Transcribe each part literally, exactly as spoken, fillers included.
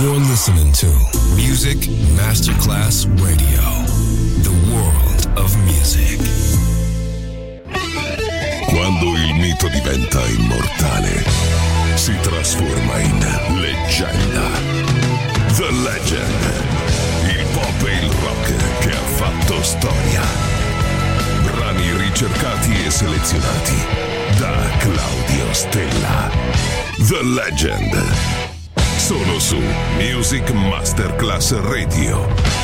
You're listening to Music Masterclass Radio, the world of music. Quando il mito diventa immortale, si trasforma in leggenda. The Legend, il pop e il rock che ha fatto storia. Brani ricercati e selezionati da Claudio Stella. The Legend, solo su Music Masterclass Radio.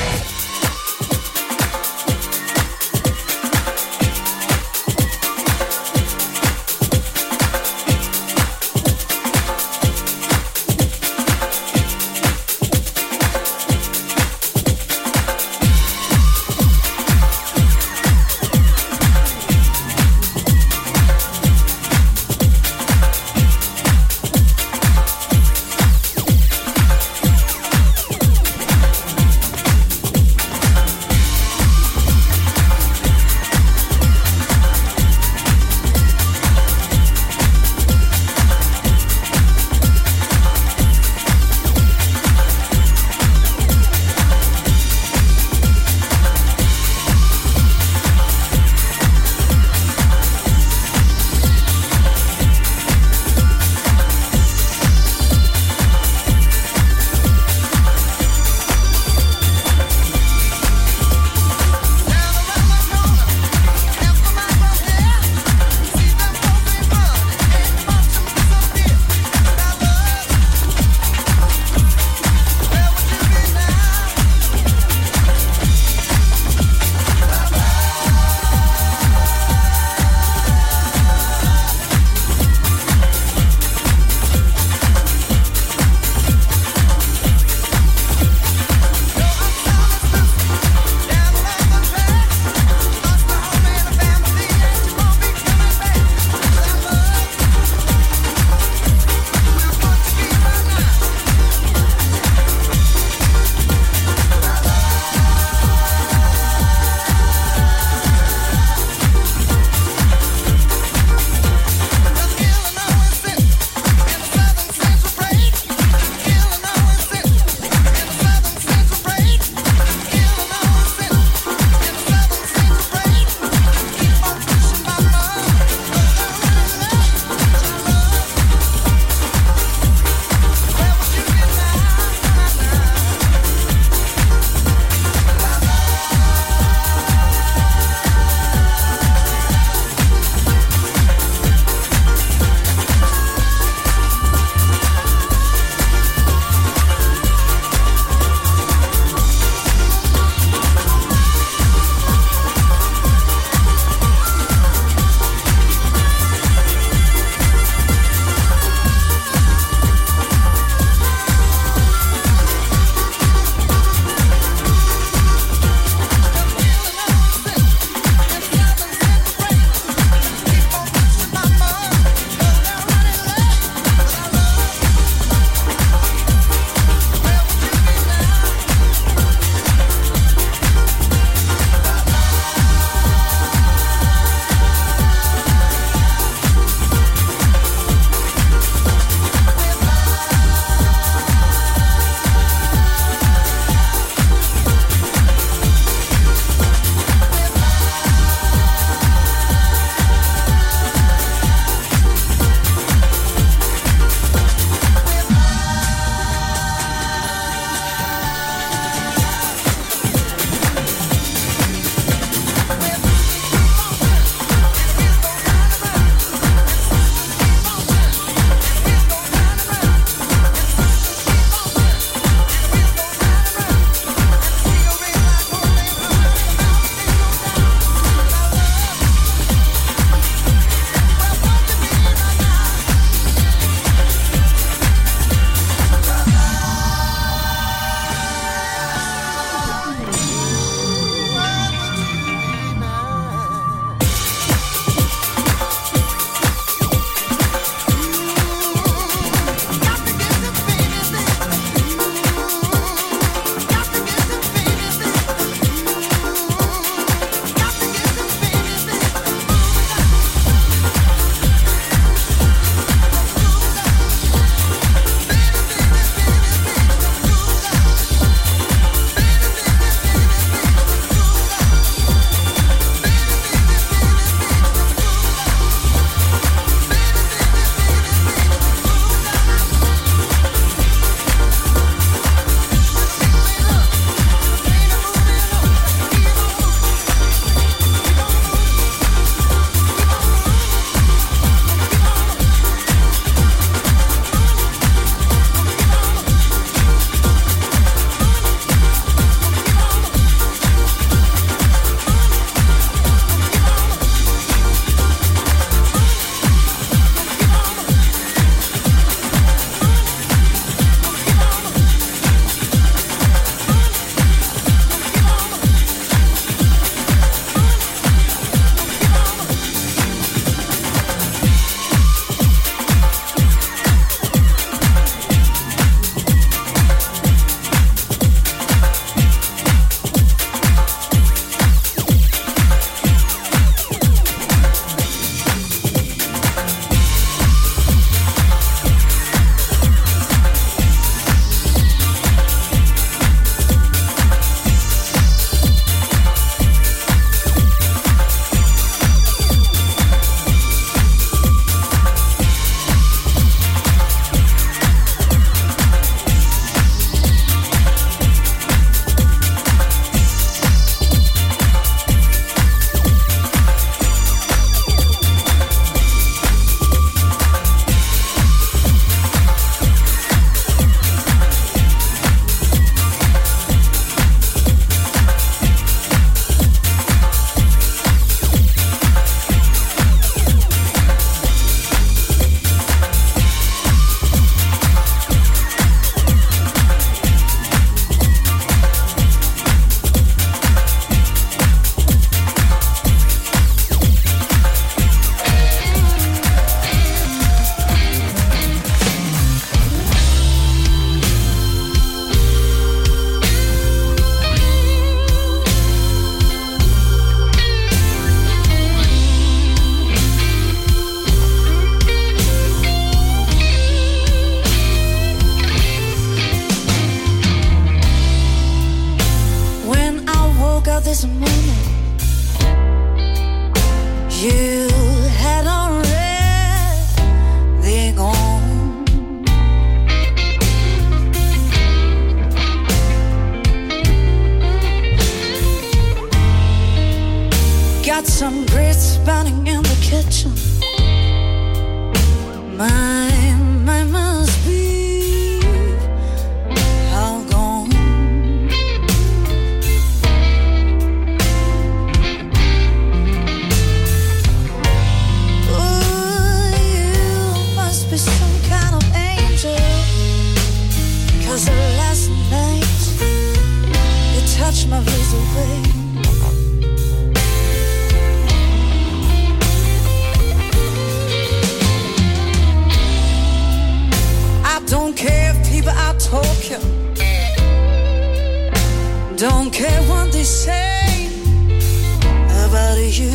got some grits burning in the kitchen. My, my must be all gone. Oh, you must be some kind of angel, 'cause last night you touched my blues away. Don't care if people out talking, don't care what they say about you.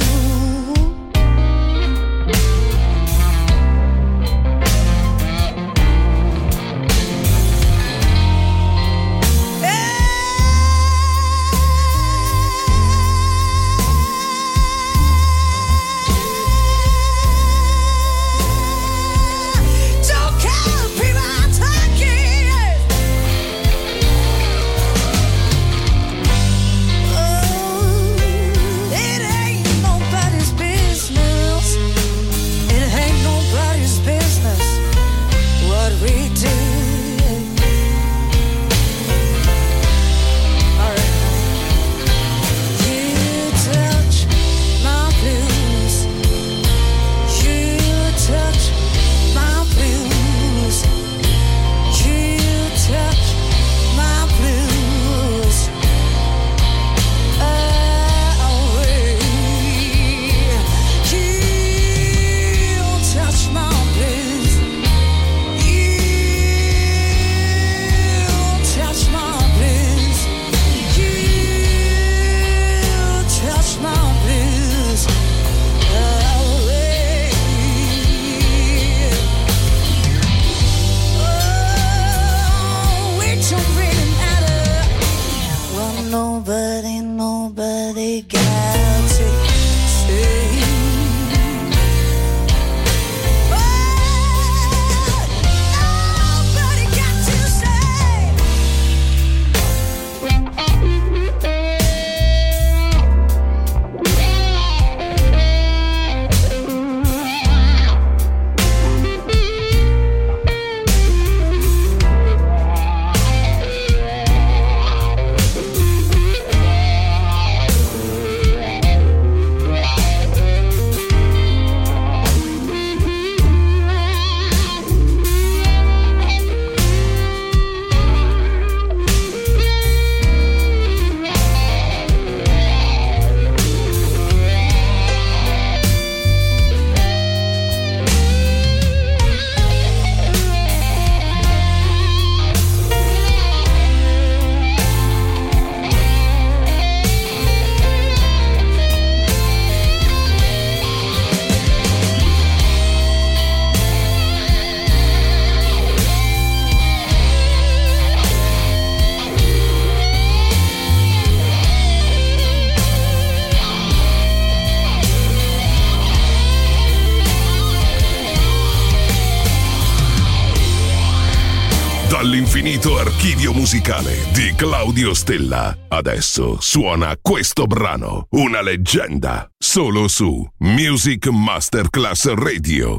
Dall'infinito archivio musicale di Claudio Stella, adesso suona questo brano, una leggenda, solo su Music Masterclass Radio.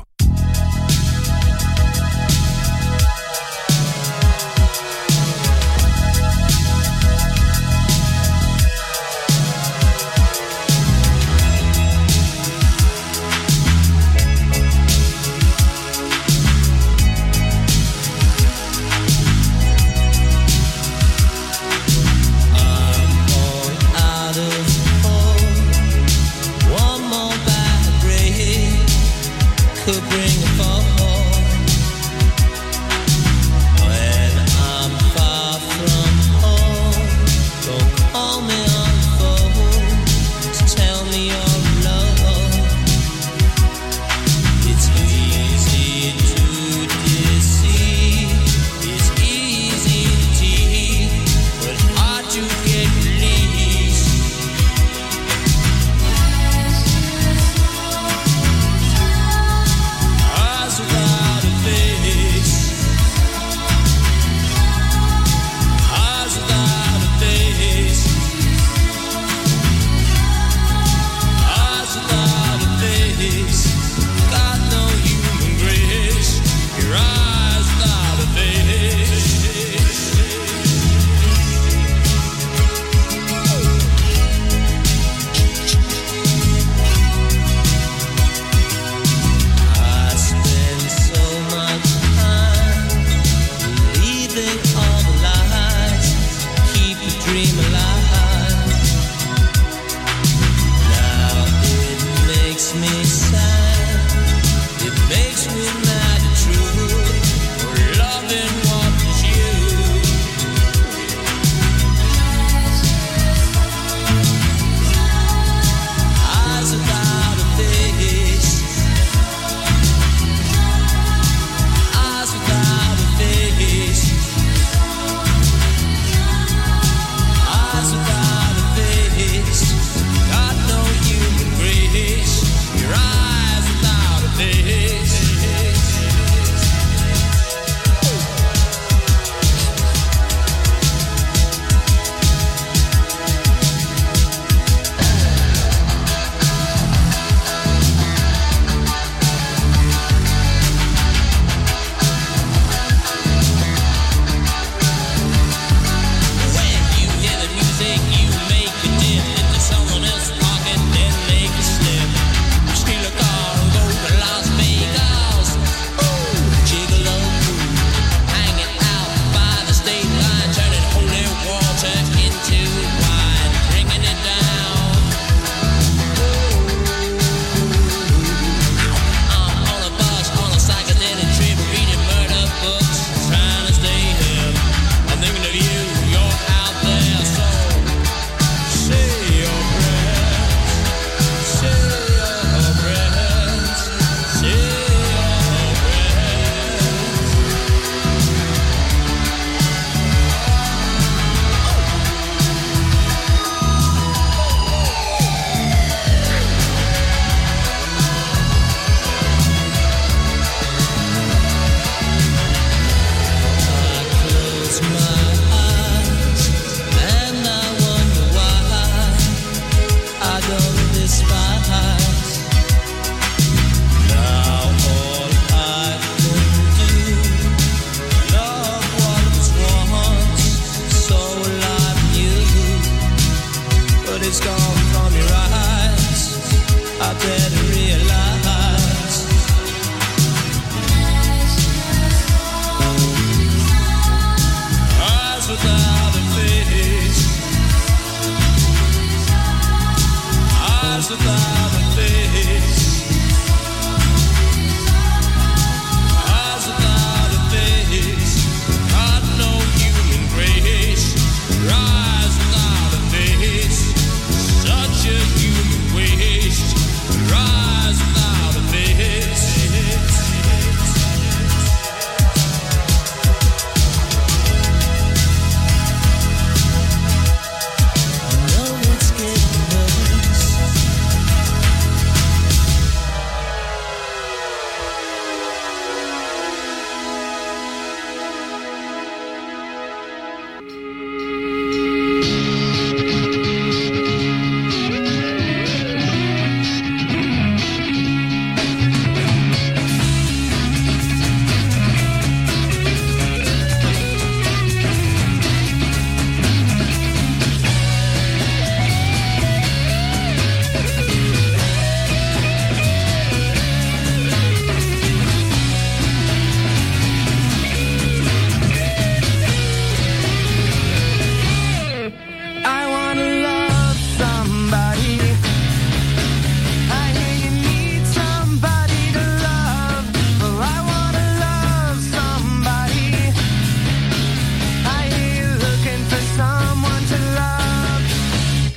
Could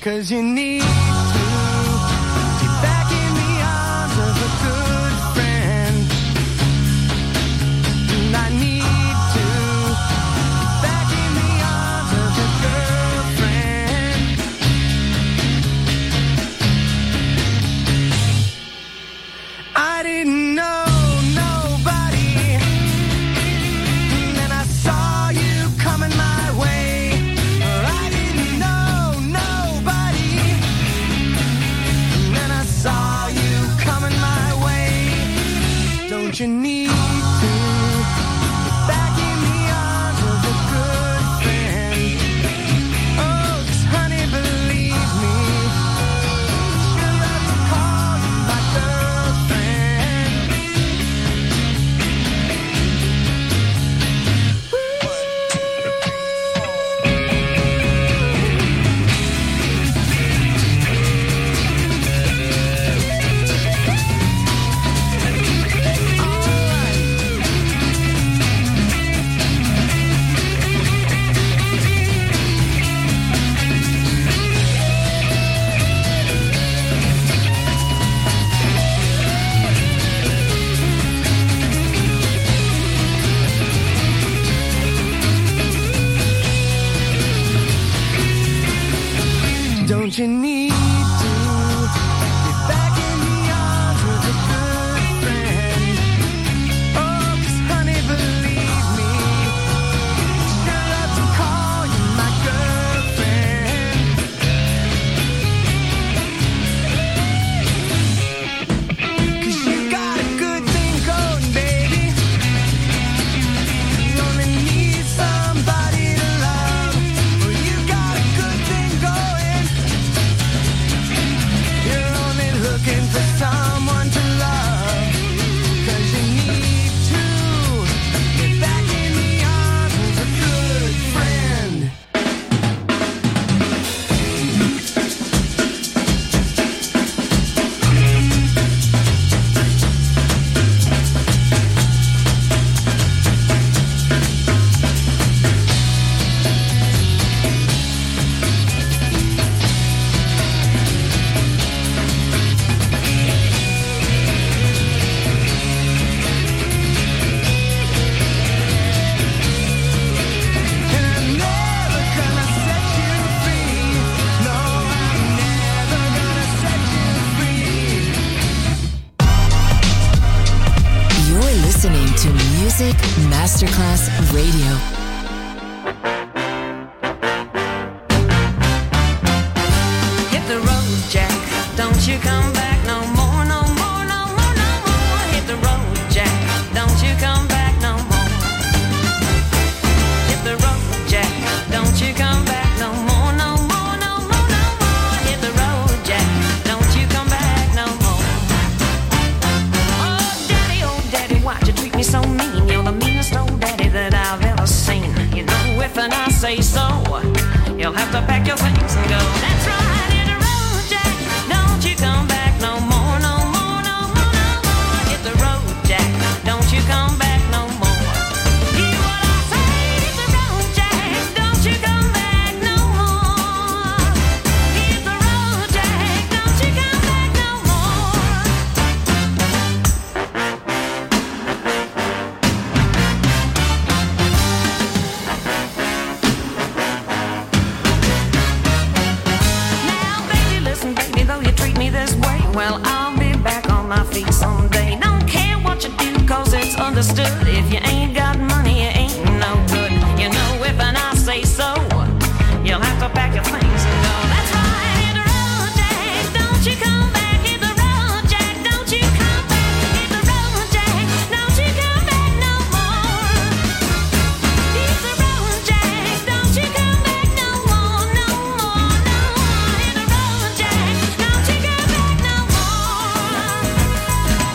'cause you need to get back in the arms of a good friend. And I need to get back in the arms of a girlfriend. I didn't know nobody, and then I saw you coming my way. I didn't know nobody, and then I saw you coming my way. Don't you need to get back in the arms of a good friend? Oh, 'cause honey, believe me, she'll love to call you my girlfriend. Don't you need to get back in the arms of a good friend? Oh, 'cause honey, believe me, she'll love to call you my girlfriend. 'Cause you got a good thing going, baby. You only need somebody to love. Well, you got a good thing going. You're only looking for someone to love. 'Cause you need to get back in the arms of a good friend. And I'm never gonna set you free. No, I'm never gonna set you free. You're listening to Music Masterclass Radio. Hit the road, Jack. Don't you come back no more, no more, no more, no more. Hit the road, Jack. Don't you come back no more. Hit the road, Jack. Don't you come back no more, no more, no more, no more. Hit the road, Jack. Don't you come back no more. Oh, daddy, oh, daddy, why'd you treat me so mean? You're the meanest old daddy that I've ever seen. You know, if and I say so, you'll have to pack your things and go. That's right, hit the road, Jack. Don't you come back no more, no more, no more, no more. Hit the road, Jack. Don't you come back no more. Hear what I say, hit the road, Jack. Don't you come back no more. Hit the road, Jack. Don't you come back no more. Now, baby, listen, baby, though you treat me this way, well, I'll be back on my feet someday. Don't care what you do, 'cause it's understood. If you ain't got money, you ain't no good. You know, if and I say so, you'll have to pack your things and go. That's right, hit the road, Jack. Don't you come back. Hit the road, Jack. Don't you come back. Hit the road, Jack. Don't you come back no more. Hit the road, Jack. Don't you come back no more, no more, no more. Hit the road, Jack. Don't you come back no more.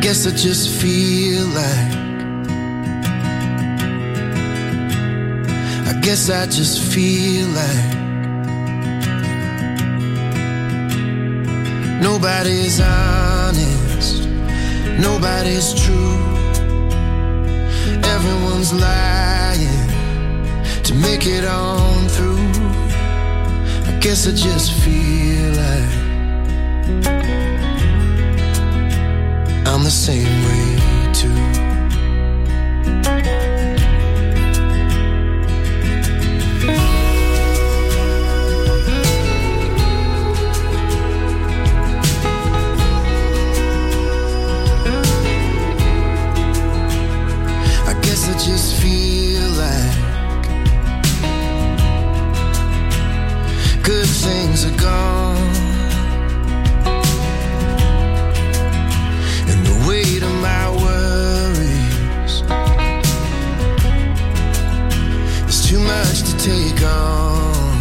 guess I just feel like I guess I just feel like nobody's honest, nobody's true. Everyone's lying to make it on through. I guess I just feel like I'm the same way too. I guess I just feel like good things are gone. Weight of my worries is too much to take on.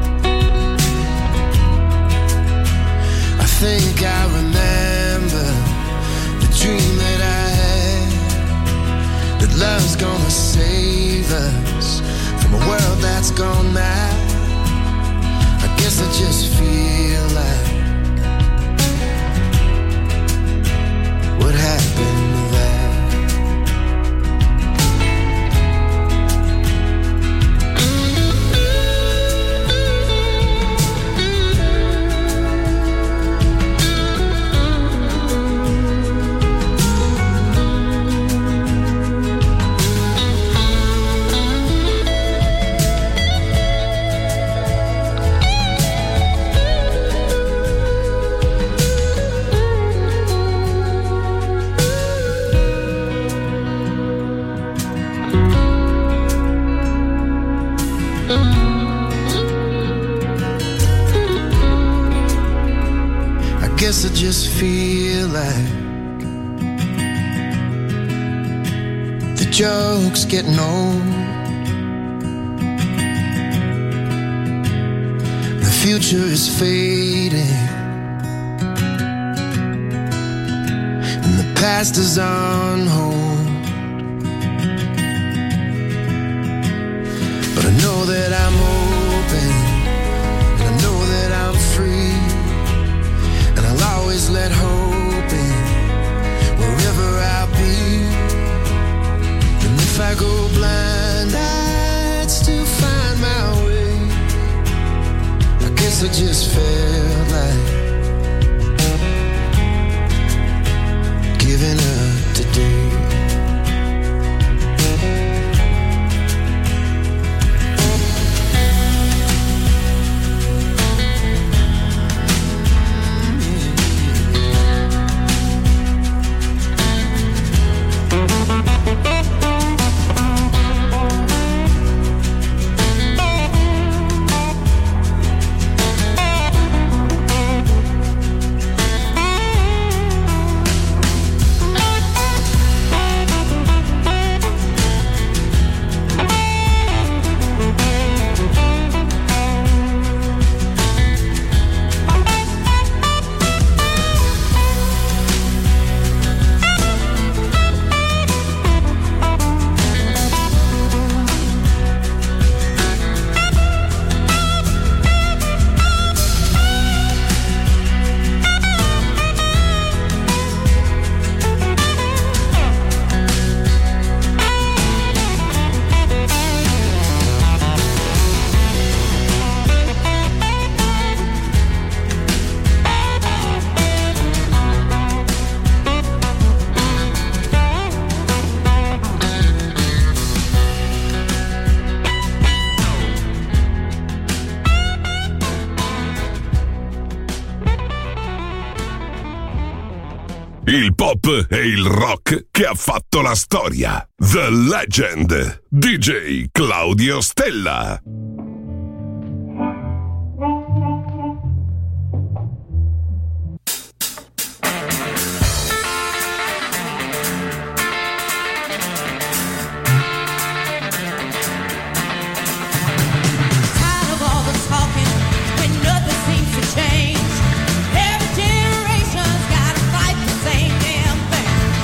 I think I remember the dream that I had, that love's gonna save us from a world that's gone mad. I guess I just feel like what happened to that? I guess I just feel like the joke's getting old. The future is fading and the past is on hold. But I know that I'm open, and I know that I'm free, and I'll always let hope in wherever I'll be. And if I go blind, I'd still find my way. I guess I just felt like giving up today. Il pop e il rock che ha fatto la storia. The Legend, D J Claudio Stella. Change. Every generation's gotta fight the same damn thing.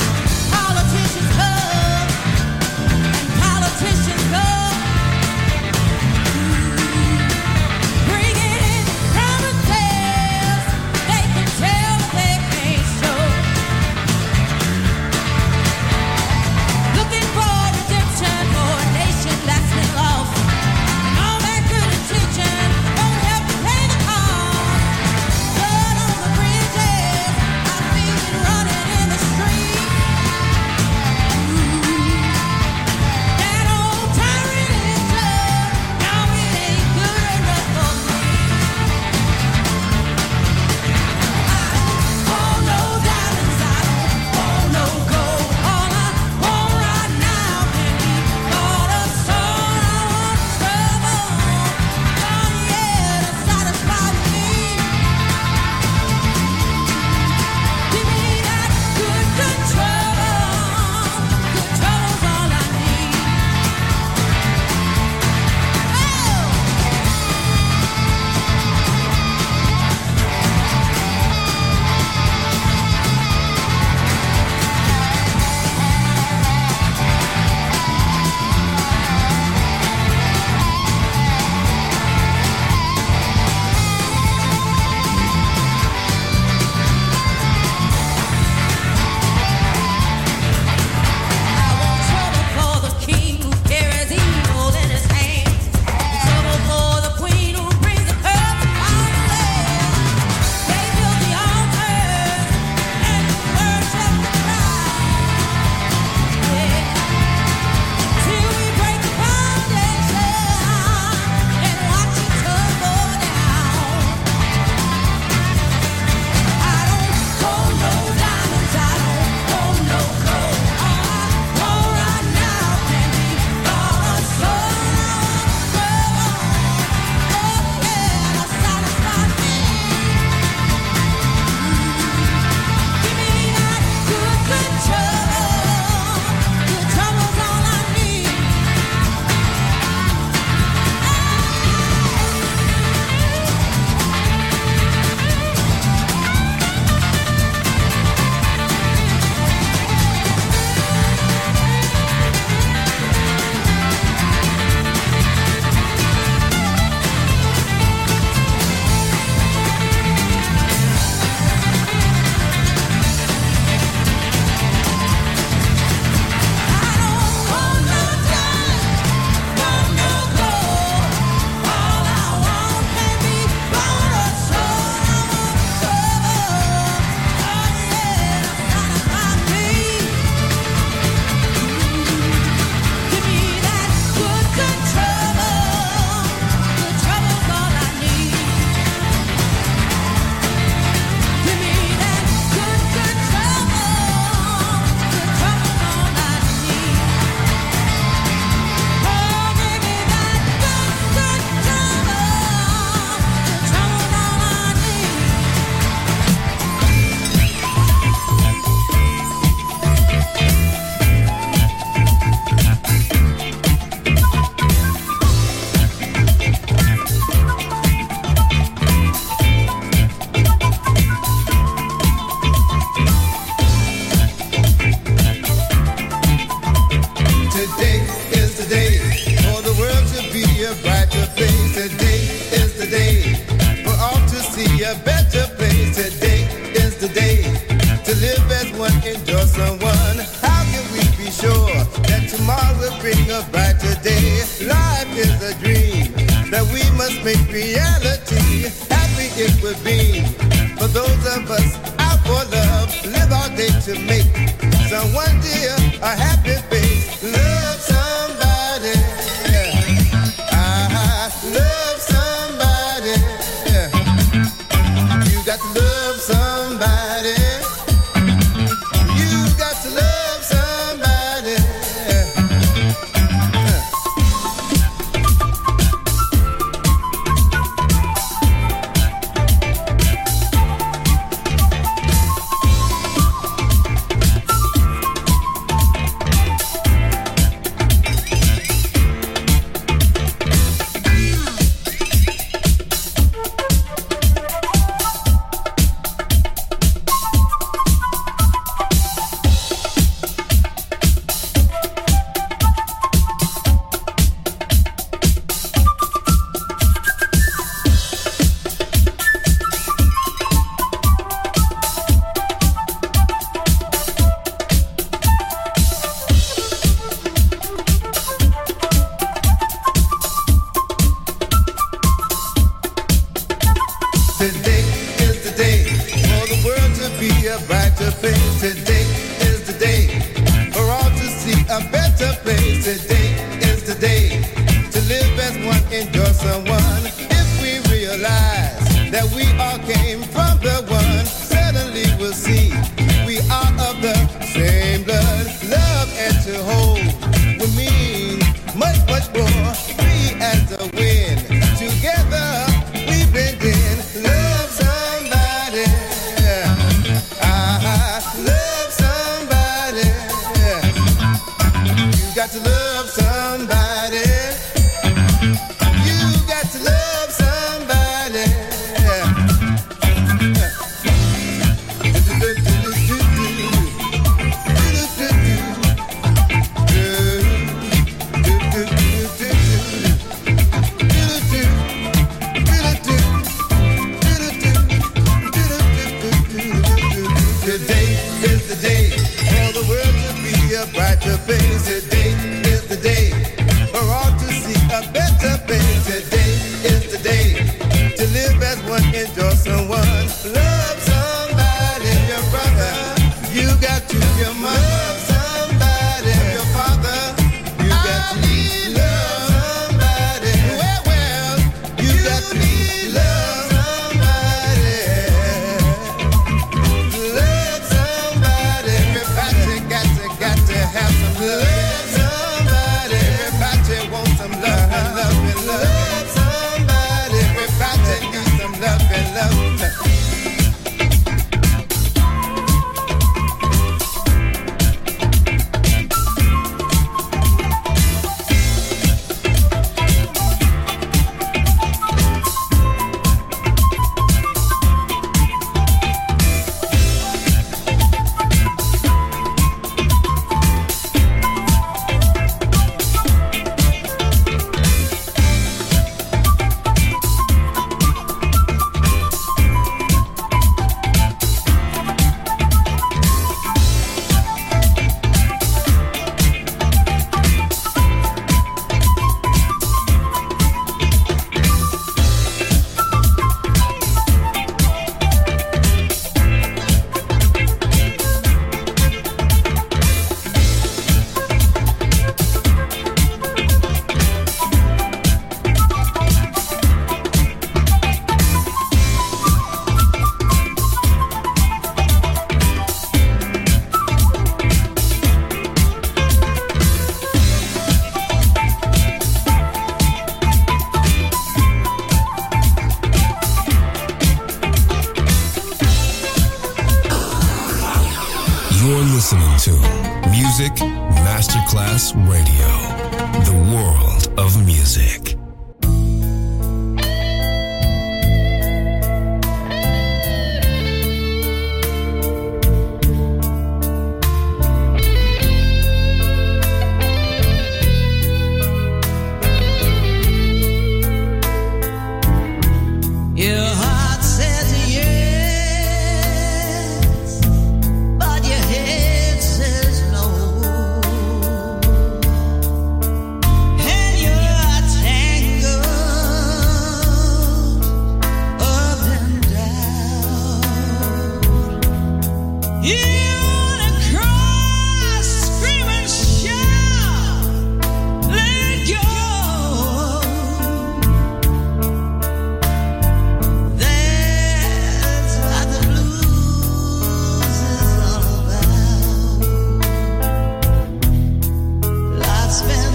is the day for the world to be a brighter place. Today is the day for all to see a better place. Today is the day to live as one, enjoy someone. How can we be sure that tomorrow will bring a brighter day? Life is a dream that we must make reality. Happy it would be for those of us out for love. Live our day to make someone dear a happy face. Love somebody. I love somebody. You got to love somebody. You got to love somebody. Today is the day for the world to be a brighter place. Today is the day for all to see a better place. Today is the day to live as one, enjoy someone. If we realize that we all came from the one, suddenly we'll see we are of the same blood. Love and to hold will mean much, much more. Free as the wind, together we blend in. Love somebody. I love somebody. You got to love somebody. You got to love somebody. Today is the day for the world to be a brighter place. Today is the day for all to see a better place. Today is the day to live as one, enjoy someone. Love somebody, your brother. You got to your mother. Love somebody, your father. You got to love somebody. Well, well, you got to love somebody. Love somebody. Everybody got to, got to have some love. Somebody. Everybody wants some love and love and love. Love somebody. Everybody needs some love and love. You're listening to Music Masterclass Radio, the world of music.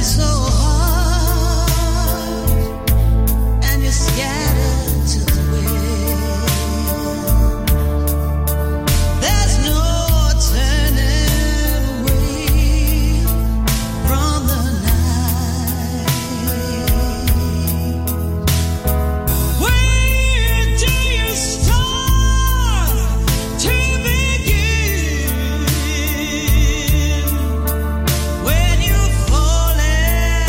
When you fall in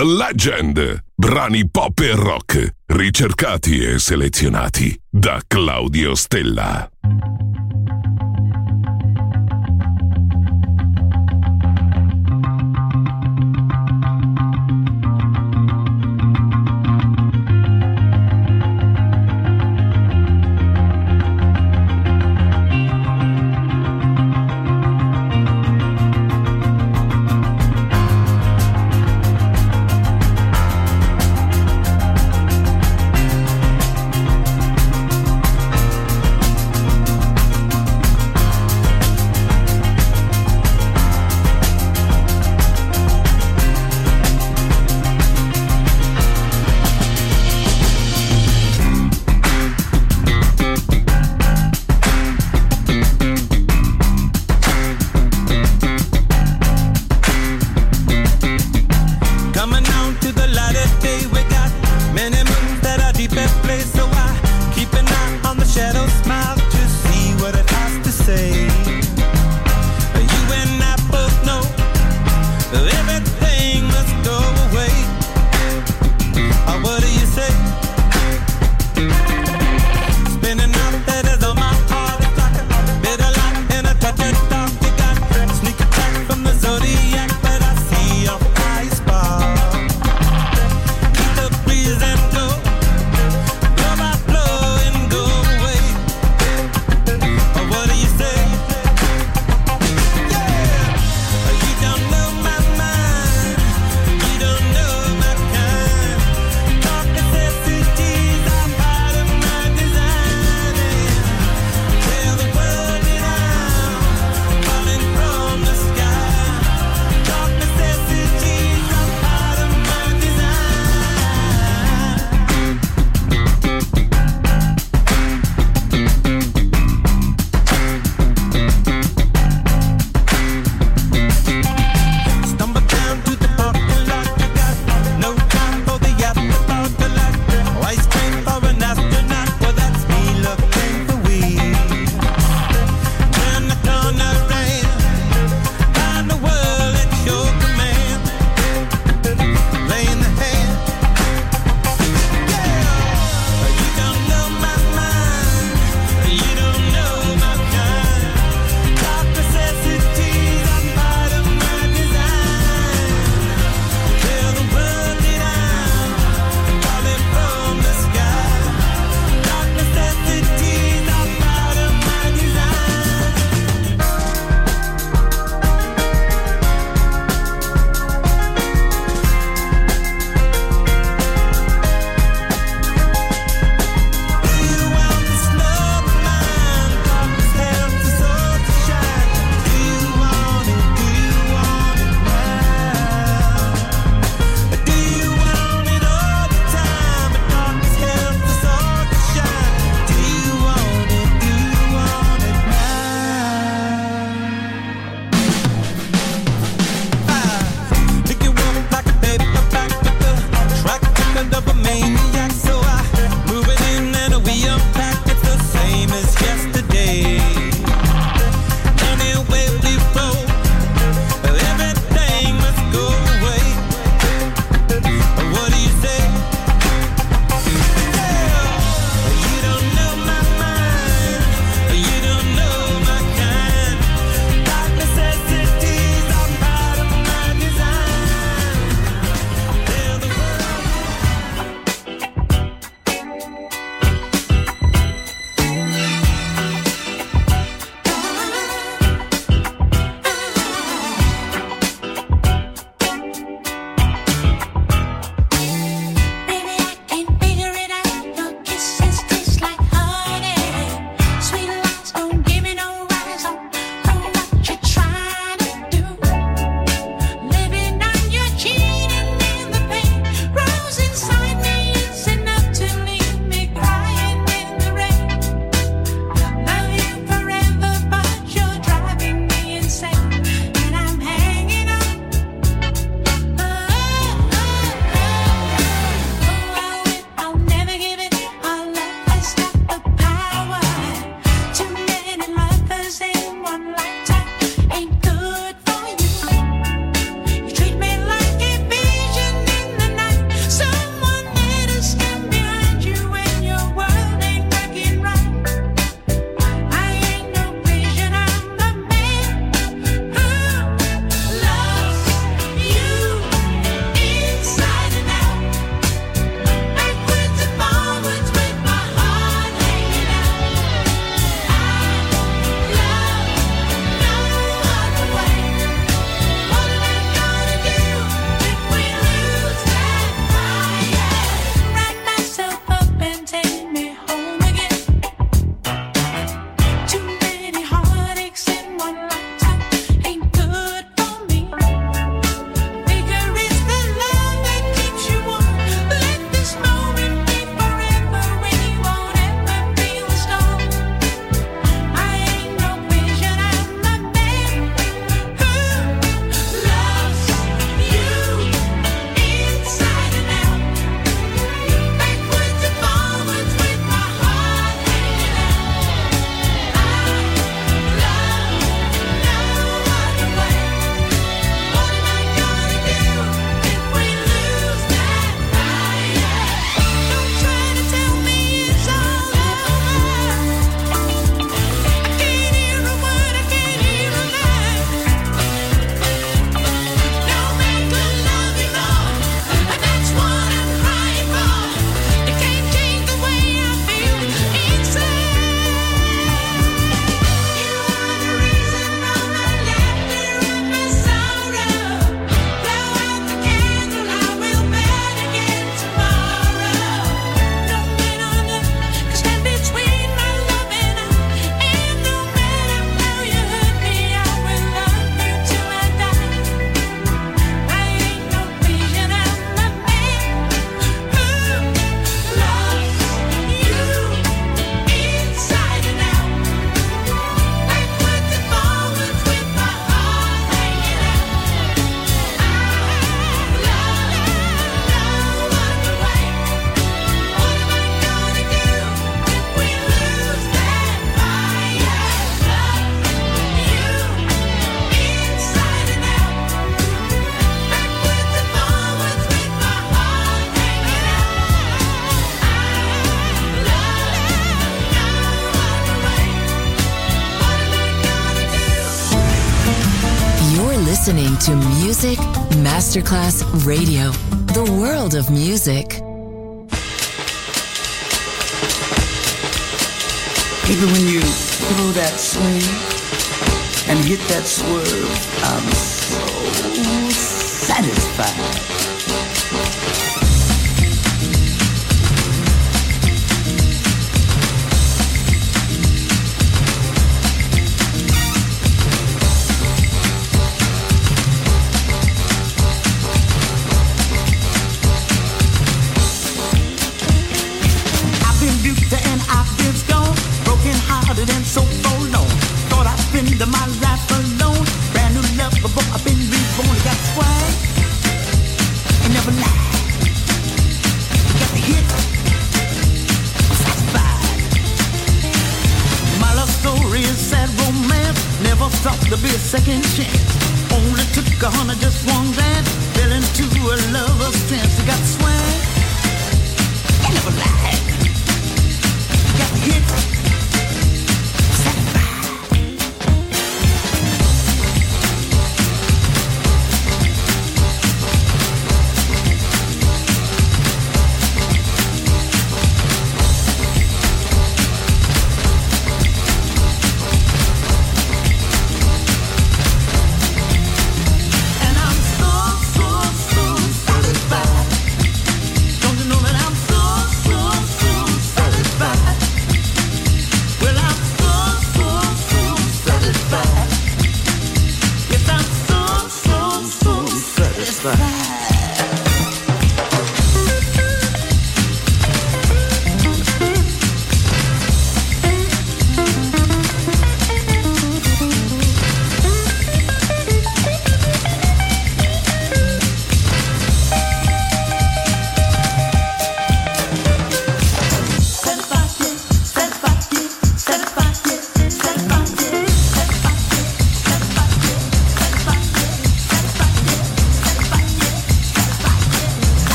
Legend. Brani pop e rock, ricercati e selezionati da Claudio Stella. Thank listening to Music Masterclass Radio, the world of music. Even when you throw that swing and hit that swerve, I'm so satisfied. And so forlorn, thought I'd spend my life alone. Brand new love, but I've been reborn. Got swag, and never lie. Got the hit, satisfied. My love story is sad romance. Never thought there'd be a second chance. Only took a hundred, just one glance. Fell into a lover's trance. Got swag, and never lie. Got the hit. So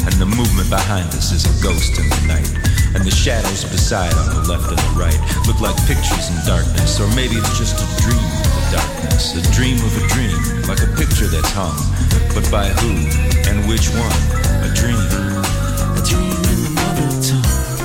and the movement behind us is a ghost in the night. And the shadows beside on the left and the right look like pictures in darkness, or maybe it's just a dream of the darkness, a dream of a dream, like a picture that's hung, but by who and which one? A dream, a dream in the mother tongue.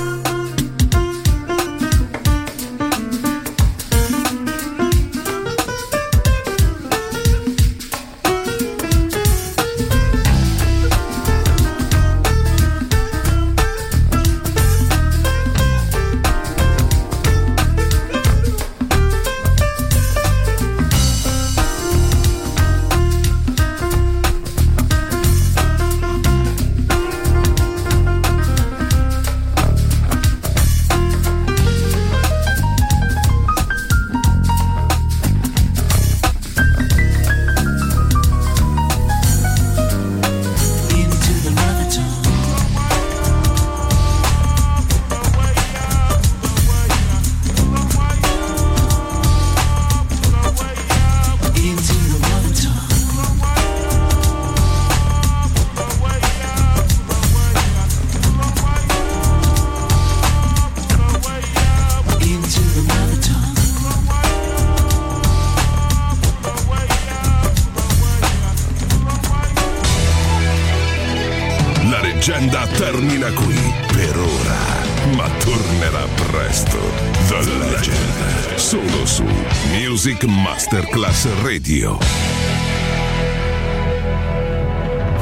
Termina qui per ora, ma tornerà presto. The Legend, solo su Music Masterclass Radio.